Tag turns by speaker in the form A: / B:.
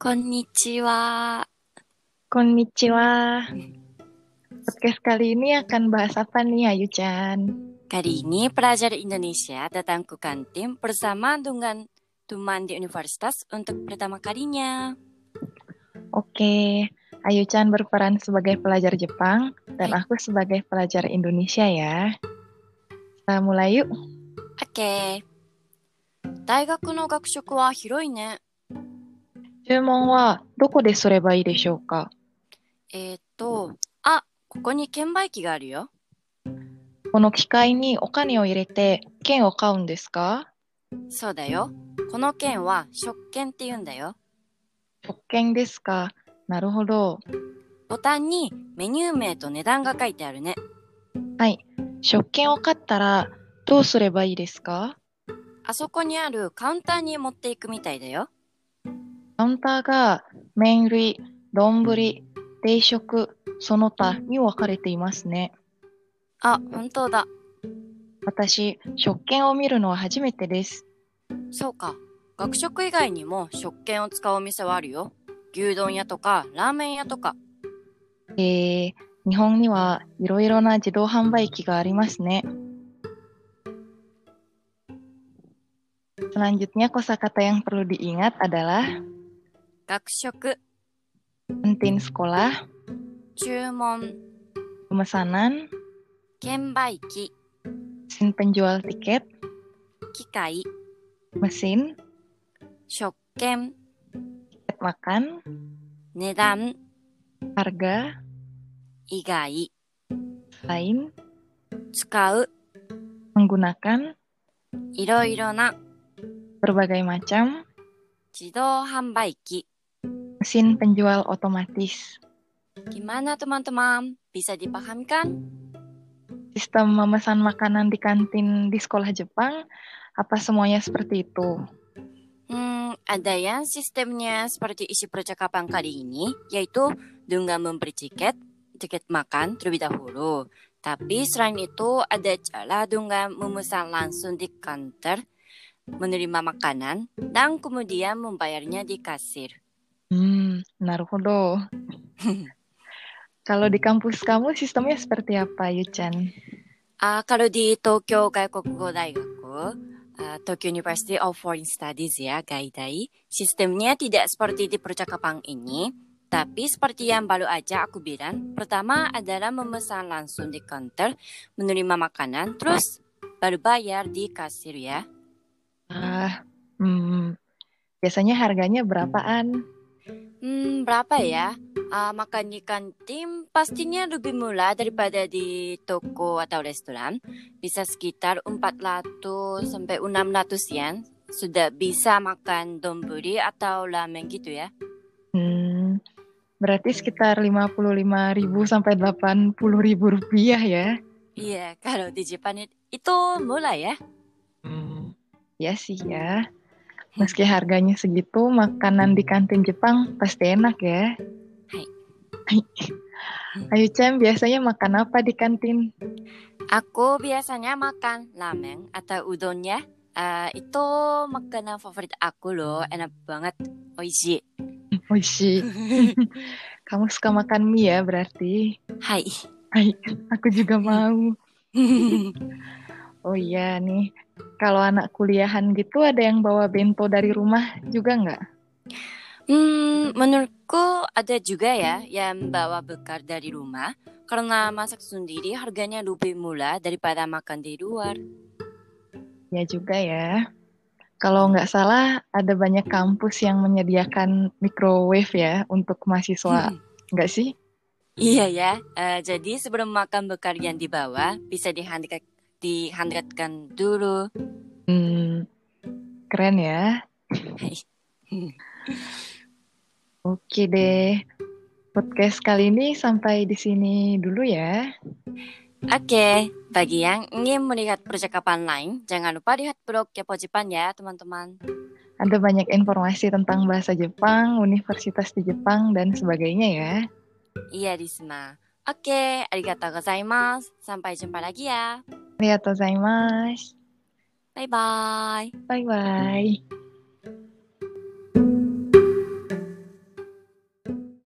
A: Konnichiwa.
B: Konnichiwa. Podcast kali ini akan bahas apa nih, Ayu-chan?
A: Kali ini pelajar Indonesia datang ke kantin bersama dengan teman di universitas untuk pertama kalinya.
B: Oke, Ayu-chan berperan sebagai pelajar Jepang dan
A: Hai.
B: aku sebagai pelajar Indonesia ya. Kita mulai yuk.
A: Oke. 大学の学食は広いね。
B: 注文はどこですればいいでしょうか？
A: ここに券売機があるよ。
B: この機械にお金を入れて券を買うんですか？
A: そうだよ。この券は食券って言うんだよ。
B: 食券ですか。なるほど。
A: ボタンにメニュー名と値段が書いてあるね。
B: はい。食券を買ったらどうすればいいですか？
A: あそこにあるカウンターに持っていくみたいだよ。
B: カウンターが麺類、丼、定食、その他に分かれていますね。
A: あ、本当だ。
B: 私、食券を見るのは初めてです。
A: そうか。学食以外にも食券を使うお店はあるよ。牛丼屋とかラーメン屋とか。
B: 日本にはいろいろな自動販売機がありますね。Selanjutnya kosakata yang perlu diingat adalah
A: 学食、
B: kantin sekolah,
A: 注文、
B: pemesanan,
A: 券売機、
B: mesin penjual tiket,
A: 機械、
B: mesin,
A: 食券、
B: tiket makan,
A: 値段、
B: harga,
A: 以外、
B: lain,
A: 使う、
B: menggunakan,
A: いろいろな、
B: berbagai macam,
A: 自動販売機。
B: mesin penjual otomatis.
A: Gimana teman-teman? Bisa dipahami kan?
B: Sistem memesan makanan di kantin di sekolah Jepang, apa semuanya seperti itu?
A: Ada yang sistemnya seperti isi percakapan kali ini, yaitu dengan memberi tiket makan terlebih dahulu. Tapi selain itu ada cara dengan memesan langsung di counter, menerima makanan, dan kemudian membayarnya di kasir.
B: なるほど。Kalau di kampus kamu sistemnya seperti apa, Yu-chan?
A: Kalau di Tokyo Gaikukugo Daigaku, Tokyo University of Foreign Studies ya, Gaidai, sistemnya tidak seperti di percakapan ini, tapi seperti yang baru aja aku bilang, pertama adalah memesan langsung di counter, menerima makanan, terus baru bayar di kasir ya.
B: Biasanya harganya berapaan?
A: Berapa ya? Makan di kantin pastinya lebih murah daripada di toko atau restoran. Bisa sekitar 400 sampai 600 yen. Sudah bisa makan donburi atau ramen gitu ya.
B: Berarti sekitar 55.000 sampai 80.000 rupiah ya?
A: Iya, kalau di Jepang itu murah ya.
B: Ya sih ya. Meski harganya segitu, makanan di kantin Jepang pasti enak ya.
A: Hai.
B: Ayu Cem, biasanya makan apa di kantin?
A: Aku biasanya makan ramen atau udon ya. Itu makanan favorit aku loh, enak banget, oishi.
B: Oishi. Kamu suka makan mie ya berarti?
A: Hai.
B: Hai, aku juga mau. Oh iya nih, kalau anak kuliahan gitu ada yang bawa bento dari rumah juga nggak?
A: Menurutku ada juga ya yang bawa bekal dari rumah karena masak sendiri harganya lebih murah daripada makan di luar.
B: Ya juga ya. Kalau nggak salah ada banyak kampus yang menyediakan microwave ya untuk mahasiswa, nggak sih?
A: Iya ya, jadi sebelum makan bekal yang dibawa bisa dihangatkan dulu.
B: Keren ya. Oke deh, podcast kali ini sampai di sini dulu ya.
A: Oke, bagi yang ingin melihat percakapan lain, jangan lupa lihat blog Kepo Jepang ya teman-teman.
B: Ada banyak informasi tentang bahasa Jepang, universitas di Jepang, dan sebagainya ya.
A: Iya, Risma. Oke, arigatou gozaimasu. Sampai jumpa lagi ya.
B: Arigatou gozaimasu.
A: Bye-bye.
B: Bye-bye.